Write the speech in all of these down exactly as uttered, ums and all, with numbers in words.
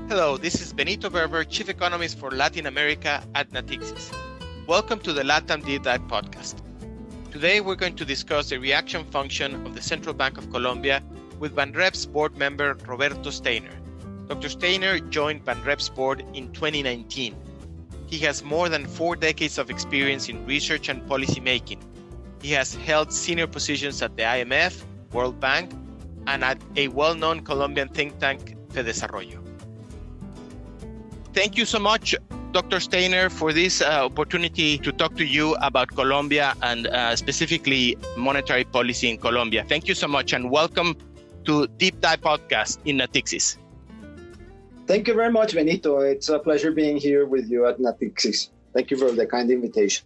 Hello, this is Benito Berber, Chief Economist for Latin America at Natixis. Welcome to the LATAM Deep Dive podcast. Today, we're going to discuss the reaction function of the Central Bank of Colombia with Banrep's board member, Roberto Steiner. Doctor Steiner joined Banrep's board in twenty nineteen. He has more than four decades of experience in research and policy making. He has held senior positions at the I M F, World Bank, and at a well-known Colombian think tank, FEDesarrollo. Thank you so much, Doctor Steiner, for this uh, opportunity to talk to you about Colombia and uh, specifically monetary policy in Colombia. Thank you so much and welcome to Deep Dive Podcast in Natixis. Thank you very much, Benito. It's a pleasure being here with you at Natixis. Thank you for the kind invitation.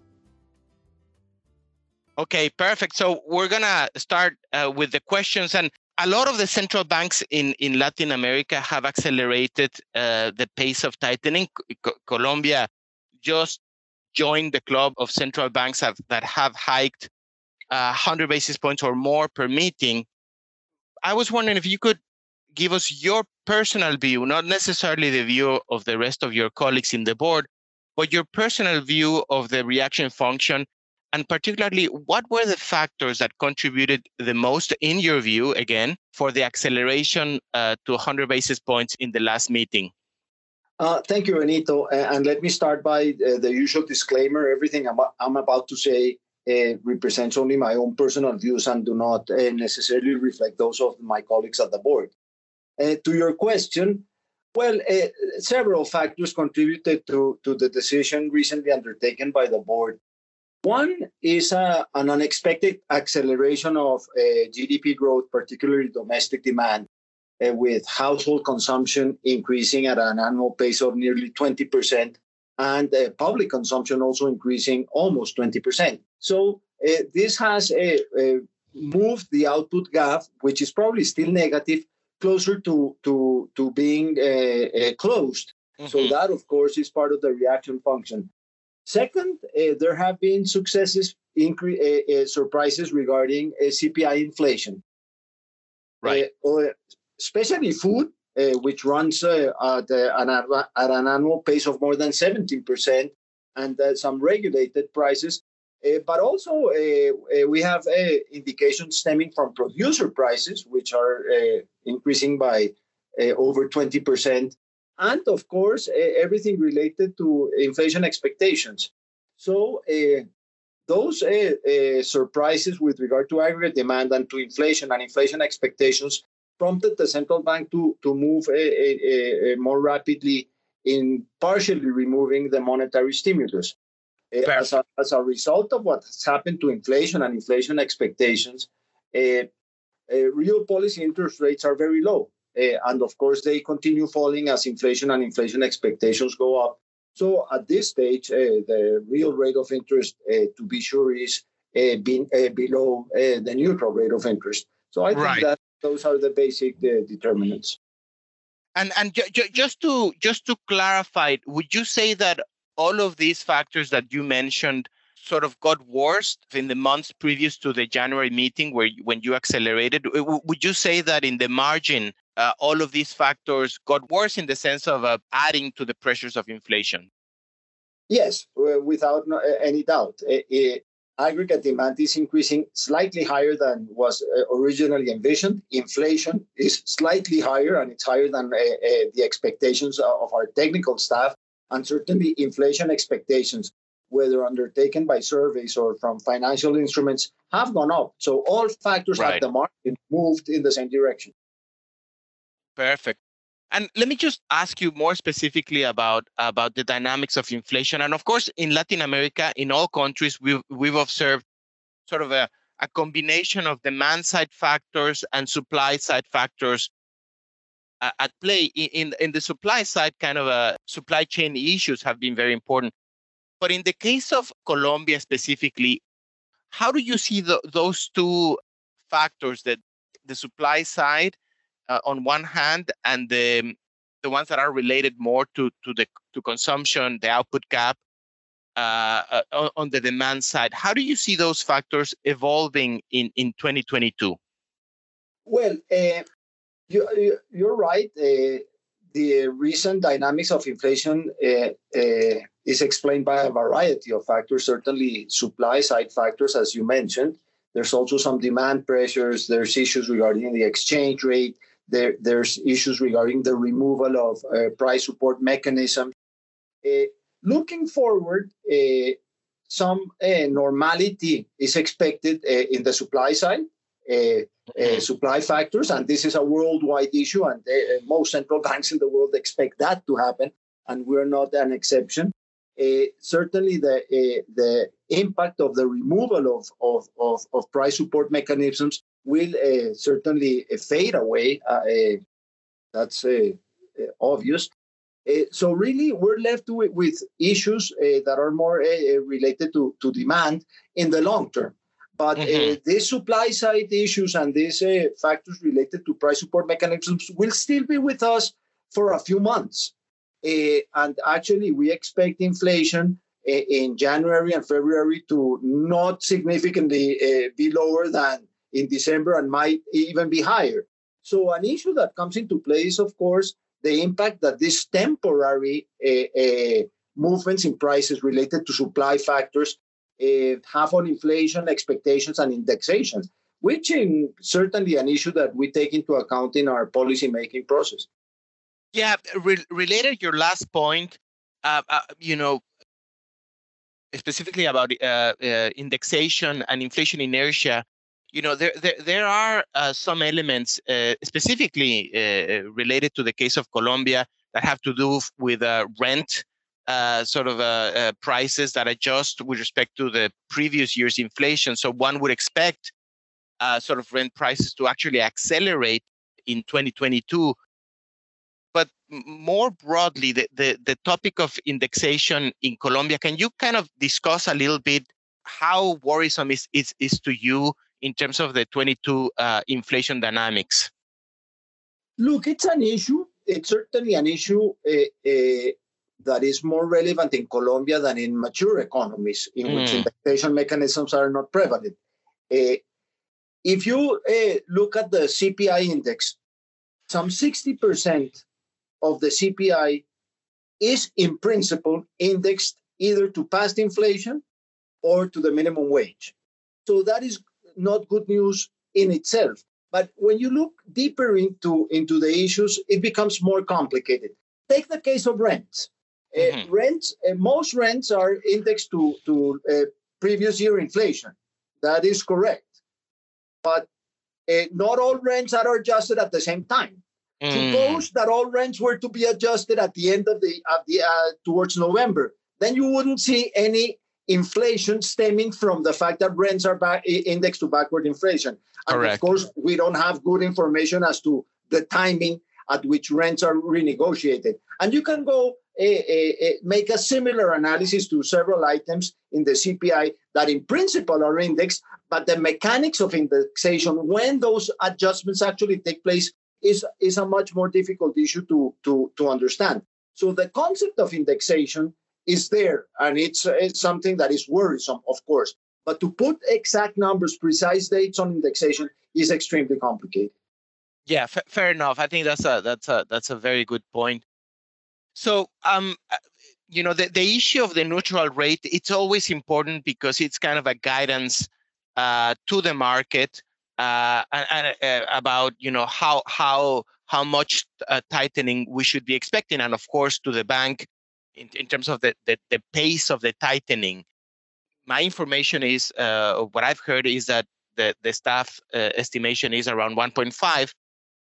Okay, perfect. So we're going to start uh, with the questions. And a lot of the central banks in, in Latin America have accelerated uh, the pace of tightening. Co- Colombia just joined the club of central banks have, that have hiked uh, one hundred basis points or more per meeting. I was wondering if you could give us your personal view, not necessarily the view of the rest of your colleagues in the board, but your personal view of the reaction function. And particularly, what were the factors that contributed the most, in your view, again, for the acceleration uh, to one hundred basis points in the last meeting? Uh, thank you, Benito. Uh, and let me start by uh, the usual disclaimer. Everything I'm, I'm about to say uh, represents only my own personal views and do not uh, necessarily reflect those of my colleagues at the board. Uh, to your question, well, uh, several factors contributed to, to the decision recently undertaken by the board. One is uh, an unexpected acceleration of uh, G D P growth, particularly domestic demand, uh, with household consumption increasing at an annual pace of nearly twenty percent and uh, public consumption also increasing almost twenty percent. So uh, this has uh, uh, moved the output gap, which is probably still negative, closer to, to, to being uh, uh, closed. Mm-hmm. So that, of course, is part of the reaction function. Second, uh, there have been successes, incre- uh, uh, surprises regarding uh, C P I inflation. Right. Uh, especially food, uh, which runs uh, at, uh, an, at an annual pace of more than seventeen percent, and uh, some regulated prices. Uh, but also, uh, uh, we have uh, indications stemming from producer prices, which are uh, increasing by uh, over twenty percent. And of course, uh, everything related to inflation expectations. So uh, those uh, uh, surprises with regard to aggregate demand and to inflation and inflation expectations prompted the central bank to, to move uh, uh, uh, more rapidly in partially removing the monetary stimulus. Uh, as, a, as a result of what has happened to inflation and inflation expectations, uh, uh, real policy interest rates are very low. Uh, and of course, they continue falling as inflation and inflation expectations go up. So at this stage, uh, the real rate of interest, uh, to be sure, is uh, being, uh, below uh, the neutral rate of interest. So I think right. that those are the basic uh, determinants. And and ju- ju- just to just to clarify, would you say that all of these factors that you mentioned sort of got worse in the months previous to the January meeting, where when you accelerated? Would you say that in the margin, Uh, all of these factors got worse in the sense of uh, adding to the pressures of inflation? Yes, uh, without no, uh, any doubt. Uh, uh, aggregate demand is increasing slightly higher than was uh, originally envisioned. Inflation is slightly higher, and it's higher than uh, uh, the expectations of our technical staff. And certainly inflation expectations, whether undertaken by surveys or from financial instruments, have gone up. So all factors right. at the market moved in the same direction. Perfect. And let me just ask you more specifically about, about the dynamics of inflation. And of course, in Latin America, in all countries, we've, we've observed sort of a, a combination of demand side factors and supply side factors uh, at play. In, in, in the supply side, kind of a supply chain issues have been very important. But in the case of Colombia specifically, how do you see the, those two factors, that the supply side Uh, on one hand, and the the ones that are related more to to the to consumption, the output gap, uh, uh, on the demand side? How do you see those factors evolving in in twenty twenty-two? Well, uh, you, you're right. Uh, the recent dynamics of inflation uh, uh, is explained by a variety of factors, certainly supply side factors, as you mentioned. There's also some demand pressures. There's issues regarding the exchange rate. There, there's issues regarding the removal of uh, price support mechanisms. Uh, looking forward, uh, some uh, normality is expected uh, in the supply side. Uh, uh, supply factors, and this is a worldwide issue, and uh, most central banks in the world expect that to happen, and we're not an exception. Uh, certainly, the uh, the impact of the removal of of, of, of price support mechanisms will uh, certainly uh, fade away. Uh, uh, that's uh, uh, obvious. Uh, so really, we're left with, with issues uh, that are more uh, related to, to demand in the long term. But mm-hmm. uh, these supply side issues and these uh, factors related to price support mechanisms will still be with us for a few months. Uh, and actually, we expect inflation uh, in January and February to not significantly uh, be lower than in December and might even be higher. So an issue that comes into play is, of course, the impact that these temporary uh, uh, movements in prices related to supply factors Uh, have on inflation expectations and indexations, which is certainly an issue that we take into account in our policy-making process. Yeah, re- related to your last point, uh, uh, you know, specifically about uh, uh, indexation and inflation inertia, you know, there there, there are uh, some elements uh, specifically uh, related to the case of Colombia that have to do with uh, rent. Uh, sort of uh, uh, prices that adjust with respect to the previous year's inflation. So one would expect uh, sort of rent prices to actually accelerate in twenty twenty-two. But more broadly, the, the, the topic of indexation in Colombia, can you kind of discuss a little bit how worrisome is, is, is to you in terms of the twenty-two uh, inflation dynamics? Look, it's an issue. It's certainly an issue uh, uh, that is more relevant in Colombia than in mature economies in mm. which indexation mechanisms are not prevalent. Uh, if you uh, look at the C P I index, some sixty percent of the C P I is in principle indexed either to past inflation or to the minimum wage. So that is not good news in itself. But when you look deeper into, into the issues, it becomes more complicated. Take the case of rents. Mm-hmm. Uh, rents, uh, most rents are indexed to, to uh, previous year inflation. That is correct. But uh, not all rents are adjusted at the same time. Mm. Suppose that all rents were to be adjusted at the end of the, of the uh, towards November, then you wouldn't see any inflation stemming from the fact that rents are back, indexed to backward inflation. And correct. Of course, we don't have good information as to the timing at which rents are renegotiated. And you can go uh, uh, make a similar analysis to several items in the C P I that in principle are indexed, but the mechanics of indexation, when those adjustments actually take place, is, is a much more difficult issue to, to, to understand. So the concept of indexation is there, and it's, it's something that is worrisome, of course. But to put exact numbers, precise dates on indexation is extremely complicated. Yeah, f- fair enough. I think that's a that's a that's a very good point. So, um, you know, the, the issue of the neutral rate, it's always important because it's kind of a guidance uh, to the market uh, and, and uh, about, you know, how how how much uh, tightening we should be expecting, and of course to the bank in, in terms of the, the the pace of the tightening. My information is uh, what I've heard is that the the staff uh, estimation is around one point five.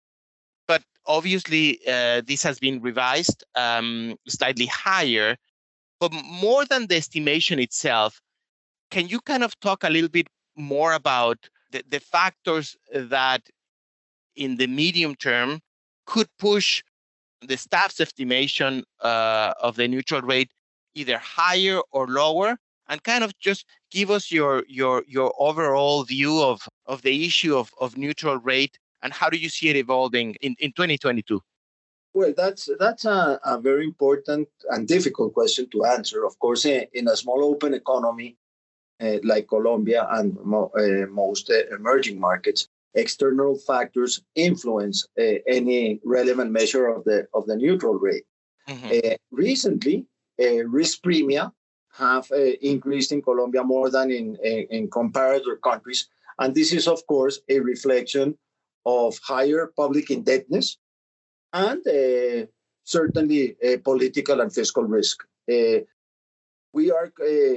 But obviously, uh, this has been revised um, slightly higher. But more than the estimation itself, can you kind of talk a little bit more about the, the factors that in the medium term could push the staff's estimation uh, of the neutral rate either higher or lower, and kind of just give us your your your overall view of, of the issue of, of neutral rate, and how do you see it evolving in, in twenty twenty-two? Well, that's that's a, a very important and difficult question to answer. Of course, in, in a small open economy uh, like Colombia and mo- uh, most uh, emerging markets, external factors influence uh, any relevant measure of the of the neutral rate. Mm-hmm. Uh, recently, uh, risk premia have uh, increased in Colombia more than in, in, in comparator countries. And this is, of course, a reflection of higher public indebtedness and uh, certainly uh, political and fiscal risk. Uh, we are uh,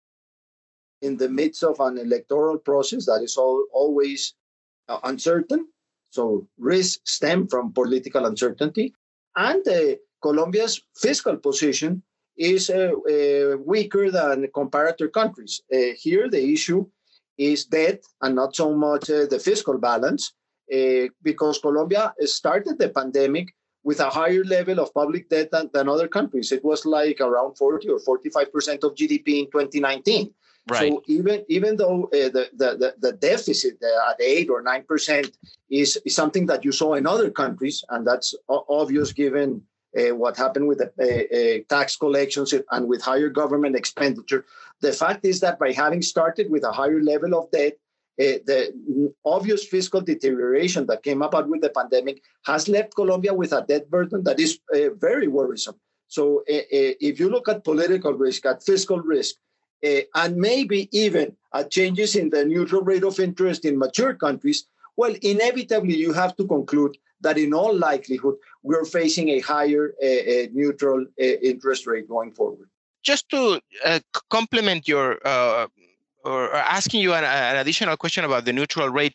in the midst of an electoral process that is all, always uh, uncertain. So risks stem from political uncertainty. And uh, Colombia's fiscal position is uh, uh, weaker than comparator countries. Uh, here, the issue is debt and not so much uh, the fiscal balance, uh, because Colombia started the pandemic with a higher level of public debt than, than other countries. It was like around forty or forty-five percent of G D P in twenty nineteen. Right. So even even though uh, the, the, the deficit uh, at eight or nine percent is, is something that you saw in other countries, and that's obvious given uh, what happened with the uh, uh, tax collections and with higher government expenditure, the fact is that by having started with a higher level of debt, uh, the obvious fiscal deterioration that came about with the pandemic has left Colombia with a debt burden that is uh, very worrisome. So uh, uh, if you look at political risk, at fiscal risk, Uh, and maybe even uh, changes in the neutral rate of interest in mature countries, well, inevitably you have to conclude that in all likelihood, we're facing a higher uh, uh, neutral uh, interest rate going forward. Just to uh, complement your, uh, or, or asking you an, an additional question about the neutral rate,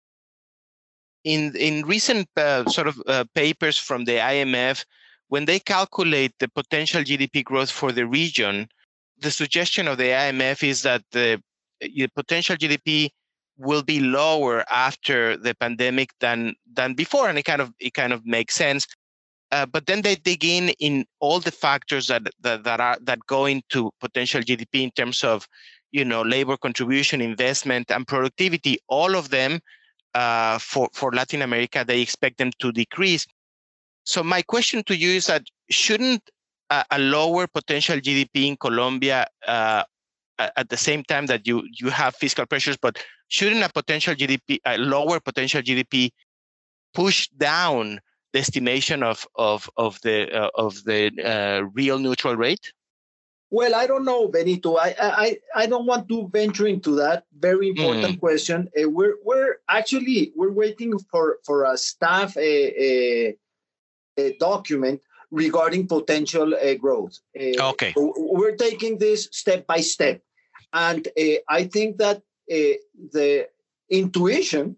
in, in recent uh, sort of uh, papers from the I M F, when they calculate the potential G D P growth for the region, the suggestion of the I M F is that the, the potential G D P will be lower after the pandemic than than before, and it kind of it kind of makes sense. Uh, but then they dig in in all the factors that, that that are that go into potential G D P in terms of, you know, labor contribution, investment, and productivity. All of them uh, for for Latin America, they expect them to decrease. So my question to you is that shouldn't a, a lower potential G D P in Colombia uh, at the same time that you you have fiscal pressures, but shouldn't a potential G D P, a lower potential G D P, push down the estimation of of of the uh, of the uh, real neutral rate? Well, I don't know, Benito. I I I don't want to venture into that very important mm. question. Uh, we're we're actually we're waiting for for a staff a, a, a document regarding potential uh, growth. Uh, okay. So we're taking this step by step, and uh, I think that uh, the intuition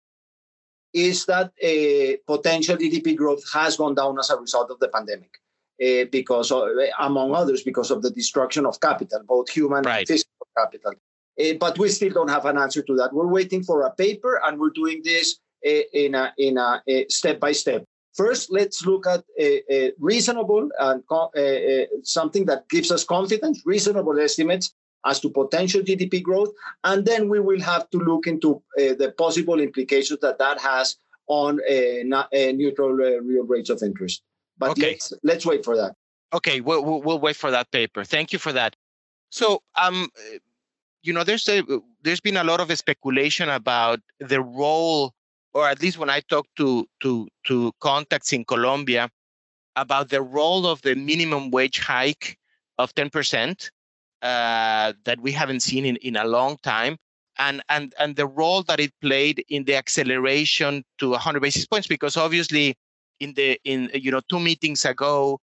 is that uh, potential G D P growth has gone down as a result of the pandemic, uh, because, of, among others, because of the destruction of capital, both human right. and physical capital. Uh, but we still don't have an answer to that. We're waiting for a paper, and we're doing this uh, in a in a, a step by step. First, let's look at a, a reasonable and uh, uh, something that gives us confidence, reasonable estimates as to potential G D P growth, and then we will have to look into uh, the possible implications that that has on uh, not, uh, neutral uh, real rates of interest. But okay. let's, let's wait for that. Okay, we'll, we'll, we'll wait for that paper. Thank you for that. So, um, you know, there's a, there's been a lot of speculation about the role, or at least when I talk to to to contacts in Colombia, about the role of the minimum wage hike of ten percent uh, that we haven't seen in, in a long time, and and and the role that it played in the acceleration to one hundred basis points, because obviously in the in you know two meetings ago,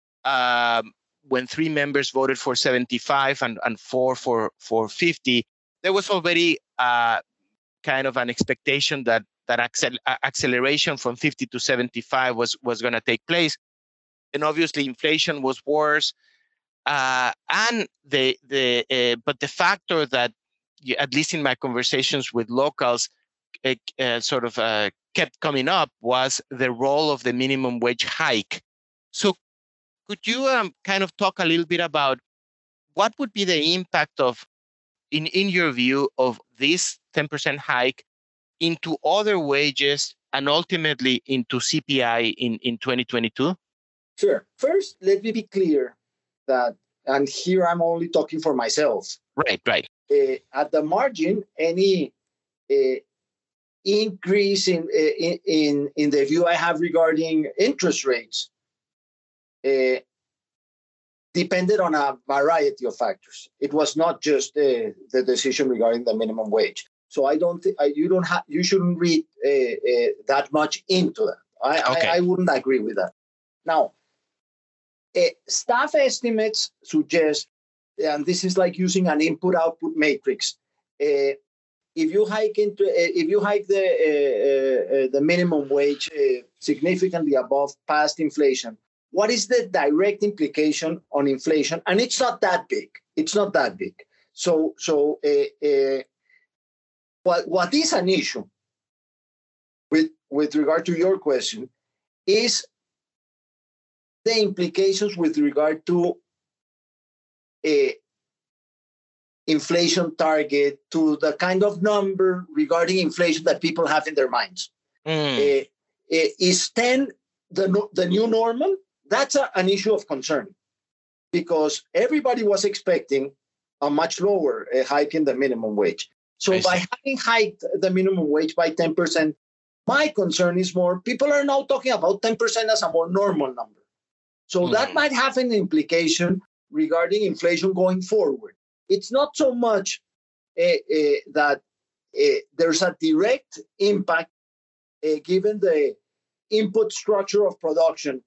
um, when three members voted for seventy-five and, and four for for fifty, there was already uh, kind of an expectation that that accel- acceleration from fifty to seventy-five was was going to take place, and obviously inflation was worse, uh, and the the uh, but the factor that, at least in my conversations with locals, uh, uh, sort of uh, kept coming up was the role of the minimum wage hike. So could you um, kind of talk a little bit about what would be the impact of, in, in your view, of this ten percent hike into other wages and ultimately into C P I in, in twenty twenty-two? Sure. First, let me be clear that, and here I'm only talking for myself. Right, right. Uh, at the margin, any uh, increase in, in, in, in the view I have regarding interest rates uh, depended on a variety of factors. It was not just uh, the decision regarding the minimum wage. So I don't think you don't have you shouldn't read uh, uh, that much into that. I, Okay. I, I wouldn't agree with that. Now, uh, staff estimates suggest, and this is like using an input-output matrix. Uh, if you hike into uh, if you hike the uh, uh, the minimum wage uh, significantly above past inflation, what is the direct implication on inflation? And it's not that big. It's not that big. So so. Uh, uh, What, what is an issue with, with regard to your question is the implications with regard to a inflation target, to the kind of number regarding inflation that people have in their minds. Mm. Uh, uh, is ten the, the new normal? That's a, an issue of concern because everybody was expecting a much lower uh, hike in the minimum wage. So by having hiked the minimum wage by ten percent, my concern is more, people are now talking about ten percent as a more normal number. So mm-hmm. that might have an implication regarding inflation going forward. It's not so much uh, uh, that uh, there's a direct impact uh, given the input structure of production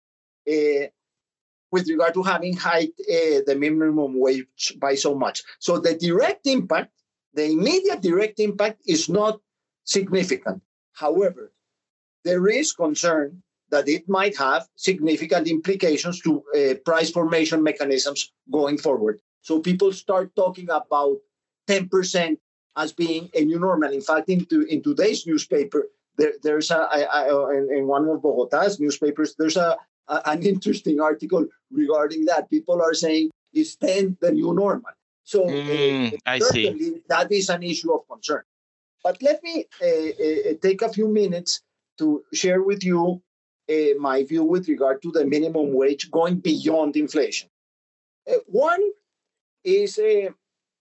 uh, with regard to having hiked uh, the minimum wage by so much. So the direct impact, the immediate direct impact is not significant. However, there is concern that it might have significant implications to uh, price formation mechanisms going forward. So people start talking about ten percent as being a new normal. In fact, in, to, in today's newspaper, there, there's a, I, I, in, in one of Bogota's newspapers, there's a, a an interesting article regarding that. People are saying, is ten the new normal? So mm, uh, I certainly see. that is an issue of concern. But let me uh, uh, take a few minutes to share with you uh, my view with regard to the minimum wage going beyond inflation. Uh, one is uh,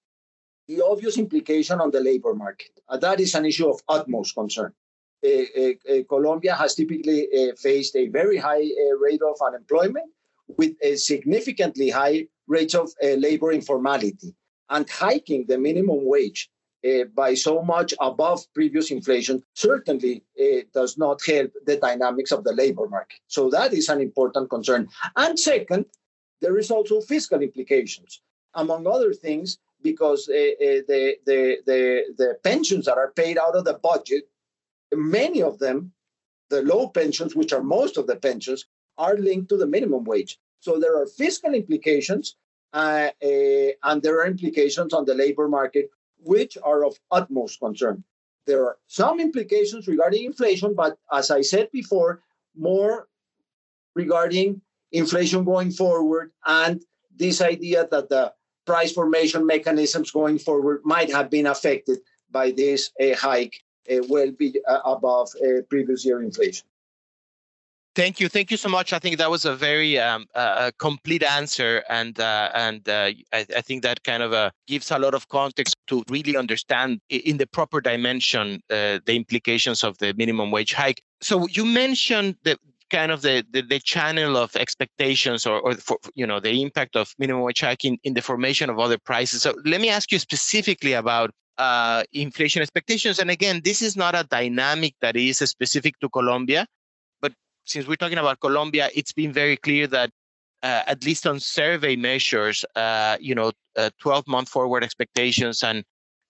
the obvious implication on the labor market. Uh, that is an issue of utmost concern. Uh, uh, uh, Colombia has typically uh, faced a very high uh, rate of unemployment with a significantly high rates of uh, labor informality, and hiking the minimum wage uh, by so much above previous inflation certainly uh, does not help the dynamics of the labor market. So that is an important concern. And second, there is also fiscal implications, among other things, because uh, uh, the, the, the, the pensions that are paid out of the budget, many of them, the low pensions, which are most of the pensions, are linked to the minimum wage. So there are fiscal implications uh, uh, and there are implications on the labor market, which are of utmost concern. There are some implications regarding inflation, but as I said before, more regarding inflation going forward and this idea that the price formation mechanisms going forward might have been affected by this uh, hike uh, well be uh, above uh, previous year inflation. Thank you. Thank you so much. I think that was a very um, uh, complete answer. And uh, and uh, I, I think that kind of uh, gives a lot of context to really understand in the proper dimension uh, the implications of the minimum wage hike. So you mentioned the kind of the, the, the channel of expectations or, or for, you know, the impact of minimum wage hike in, in the formation of other prices. So let me ask you specifically about uh, inflation expectations. And again, this is not a dynamic that is specific to Colombia. Since we're talking about Colombia, it's been very clear that uh, at least on survey measures, uh, you know, uh, twelve-month forward expectations and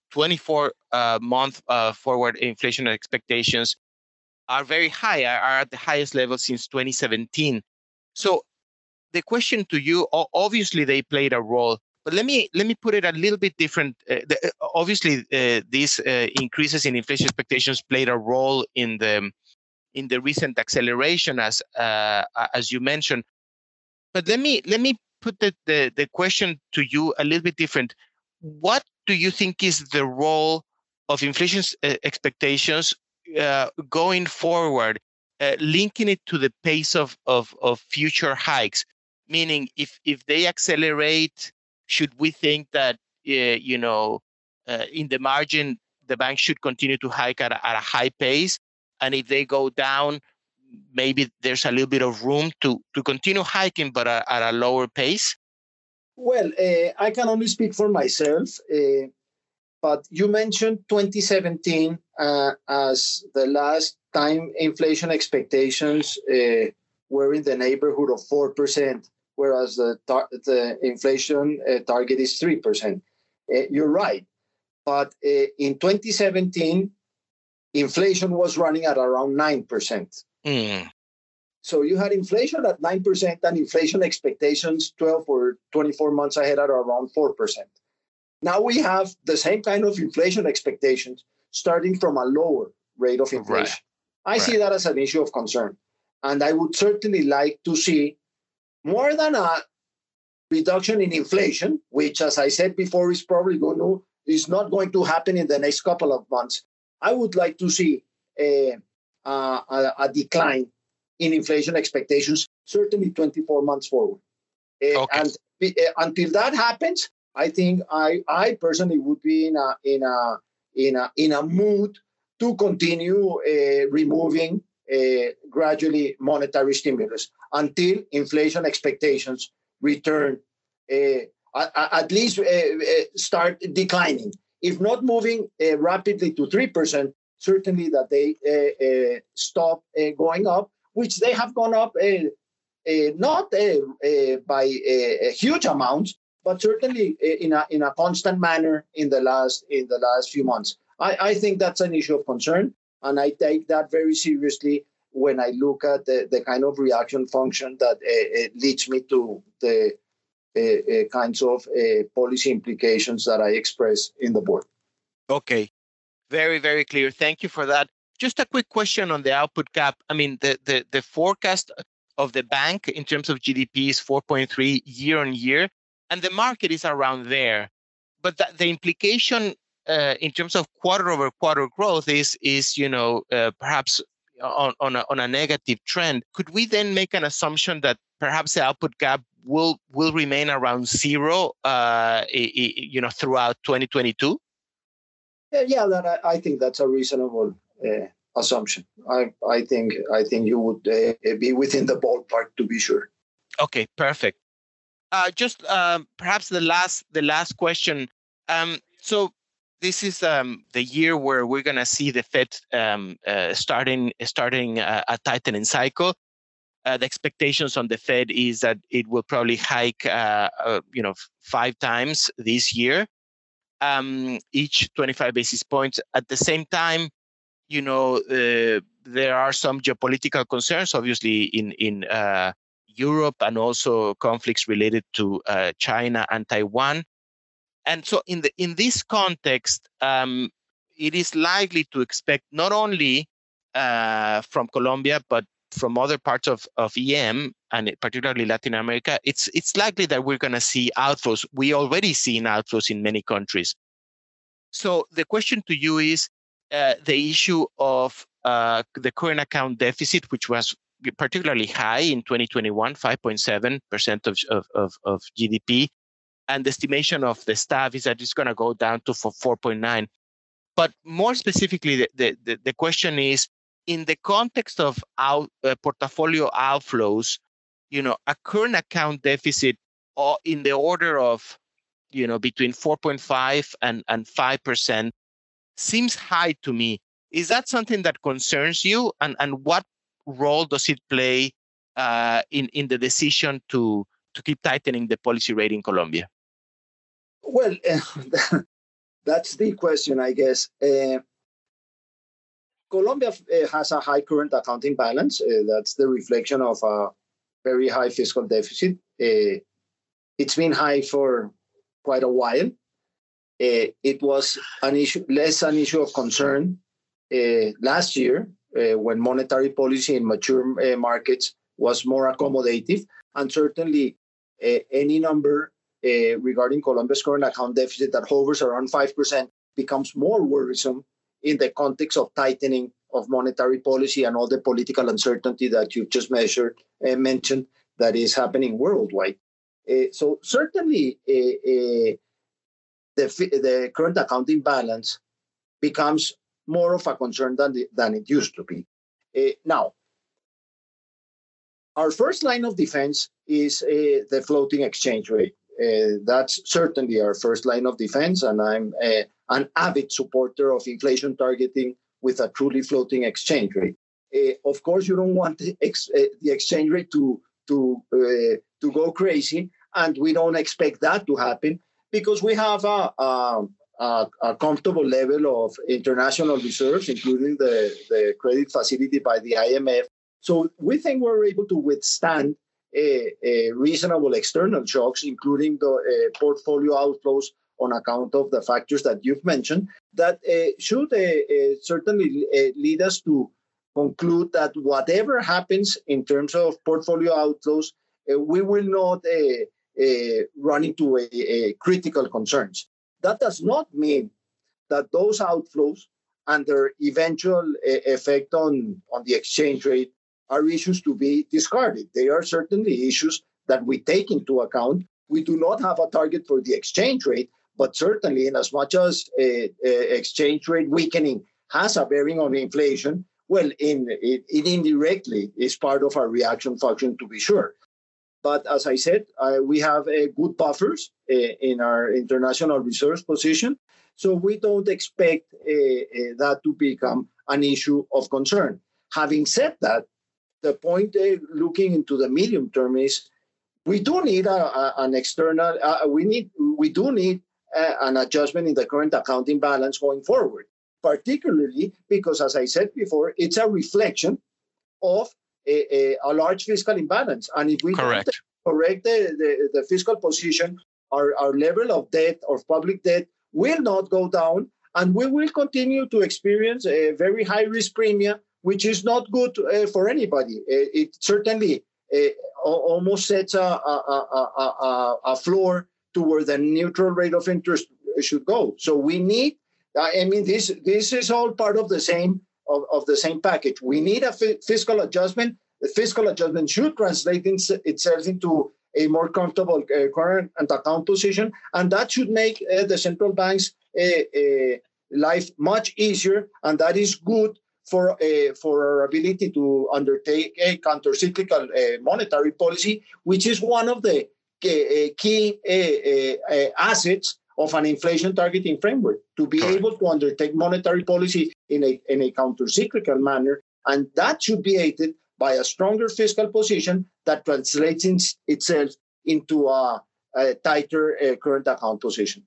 twenty-four-month uh, forward inflation expectations are very high, are at the highest level since twenty seventeen. So the question to you, obviously they played a role, but let me let me put it a little bit different. Uh, the, obviously, uh, these uh, increases in inflation expectations played a role in the in the recent acceleration, as uh, as you mentioned. But let me let me put the, the, the question to you a little bit different. What do you think is the role of inflation uh, expectations uh, going forward, uh, linking it to the pace of, of, of future hikes? Meaning, if, if they accelerate, should we think that, uh, you know, uh, in the margin, the bank should continue to hike at a, at a high pace. And if they go down, maybe there's a little bit of room to, to continue hiking, but at, at a lower pace? Well, uh, I can only speak for myself, uh, but you mentioned twenty seventeen uh, as the last time inflation expectations uh, were in the neighborhood of four percent, whereas the, tar- the inflation uh, target is three percent. Uh, you're right. But uh, in twenty seventeen, inflation was running at around nine percent. Mm. So you had inflation at nine percent and inflation expectations twelve or twenty-four months ahead at around four percent. Now we have the same kind of inflation expectations starting from a lower rate of inflation. Right. I right. see that as an issue of concern. And I would certainly like to see more than a reduction in inflation, which, as I said before, is probably going to, is not going to happen in the next couple of months. I would like to see a, a, a decline in inflation expectations, certainly twenty-four months forward. Uh, okay. And uh, until that happens, I think I, I personally would be in a in a in a in a mood to continue uh, removing uh, gradually monetary stimulus until inflation expectations return, uh, at, at least uh, uh, start declining. If not moving uh, rapidly to three percent, certainly that they uh, uh, stop uh, going up, which they have gone up uh, uh, not uh, uh, by uh, huge amounts, but certainly uh, in a in a constant manner in the last in the last few months. I, I think that's an issue of concern, and I take that very seriously when I look at the, the kind of reaction function that uh, leads me to the uh, uh, kinds of uh, policy implications that I express in the board. Okay, very, very clear. Thank you for that. Just a quick question on the output cap. I mean, the, the, the forecast of the bank in terms of G D P is four point three year on year, and the market is around there. But the, the implication uh, in terms of quarter over quarter growth is, is you know, uh, perhaps on, on, a, on a negative trend. Could we then make an assumption that perhaps the output gap will will remain around zero, uh, you know, throughout twenty twenty-two? Yeah, that I, I think that's a reasonable uh, assumption. I I think I think you would uh, be within the ballpark, to be sure. Okay, perfect. Uh, just um, perhaps the last the last question. Um, so this is um, the year where we're going to see the Fed um, uh, starting starting a, a tightening cycle. Uh, the expectations on the Fed is that it will probably hike, uh, uh, you know, five times this year, um, each twenty-five basis points. At the same time, you know, uh, there are some geopolitical concerns, obviously, in in uh, Europe, and also conflicts related to uh, China and Taiwan. And so, in the in this context, um, it is likely to expect not only uh, from Colombia, but from other parts of, of E M, and particularly Latin America, it's it's likely that we're going to see outflows. We already seen outflows in many countries. So the question to you is uh, the issue of uh, the current account deficit, which was particularly high in twenty twenty-one, five point seven percent of, of, of, of G D P. And the estimation of the staff is that it's going to go down to four point nine. But more specifically, the, the, the question is, in the context of out, uh, portfolio outflows, you know, a current account deficit or in the order of, you know, between four point five and, and five percent seems high to me. Is that something that concerns you? And, and what role does it play uh, in, in the decision to, to keep tightening the policy rate in Colombia? Well, uh, that's the question, I guess. Uh, Colombia uh, has a high current accounting balance. Uh, that's the reflection of a very high fiscal deficit. Uh, it's been high for quite a while. Uh, it was an issue, less an issue of concern uh, last year uh, when monetary policy in mature uh, markets was more accommodative, and certainly uh, any number uh, regarding Colombia's current account deficit that hovers around five percent becomes more worrisome in the context of tightening of monetary policy and all the political uncertainty that you've just measured, uh, mentioned that is happening worldwide. Uh, so certainly uh, uh, the, the current accounting balance becomes more of a concern than, the, than it used to be. Uh, now, our first line of defense is uh, the floating exchange rate. Uh, that's certainly our first line of defense, and I'm uh, an avid supporter of inflation targeting with a truly floating exchange rate. Uh, of course, you don't want the, ex- uh, the exchange rate to to uh, to go crazy, and we don't expect that to happen because we have a, a, a, a comfortable level of international reserves, including the, the credit facility by the I M F. So we think we're able to withstand a, a reasonable external shocks, including the uh, portfolio outflows on account of the factors that you've mentioned, that uh, should uh, uh, certainly uh, lead us to conclude that whatever happens in terms of portfolio outflows, uh, we will not uh, uh, run into a, a critical concerns. That does not mean that those outflows and their eventual uh, effect on, on the exchange rate are issues to be discarded. They are certainly issues that we take into account. We do not have a target for the exchange rate, but certainly in as much as uh, uh, exchange rate weakening has a bearing on inflation, well, in, it, it indirectly is part of our reaction function, to be sure. But as I said, uh, we have uh, good buffers uh, in our international reserves position, so we don't expect uh, uh, that to become an issue of concern. Having said that, the point uh, looking into the medium term is we do need a, a, an external, uh, we need, we do need uh, an adjustment in the current accounting balance going forward, particularly because, as I said before, it's a reflection of a, a, a large fiscal imbalance. And if we correct, don't correct the, the, the fiscal position, our, our level of debt, of public debt, will not go down, and we will continue to experience a very high risk premium, which is not good uh, for anybody. Uh, it certainly uh, almost sets a, a, a, a, a floor to where the neutral rate of interest should go. So we need, I mean, this this is all part of the same of, of the same package. We need a f- fiscal adjustment. The fiscal adjustment should translate in, itself into a more comfortable uh, current and account position, and that should make uh, the central bank's uh, uh, life much easier, and that is good for uh, for our ability to undertake a countercyclical uh, monetary policy, which is one of the uh, key uh, uh, assets of an inflation targeting framework, to be Correct. able to undertake monetary policy in a in a countercyclical manner, and that should be aided by a stronger fiscal position that translates in, itself into a, a tighter uh, current account position.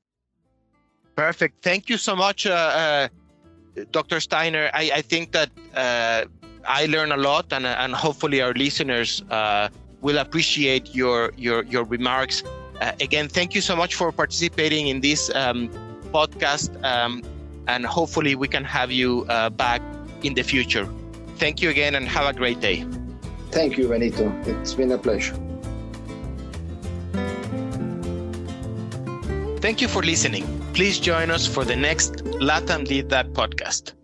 Perfect. Thank you so much, uh, uh, Doctor Steiner. I, I think that uh, I learned a lot, and and hopefully our listeners uh, will appreciate your your your remarks. Uh, again, thank you so much for participating in this um, podcast, um, and hopefully we can have you uh, back in the future. Thank you again, and have a great day. Thank you, Benito. It's been a pleasure. Thank you for listening. Please join us for the next LATAM Did That podcast.